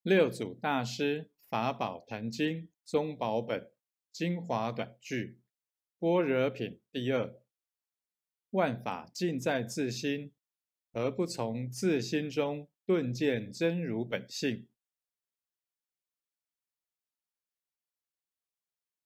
六祖大师法宝坛经宗宝本精华短句般若品第二。万法尽在自心，何不从自心中顿见真如本性？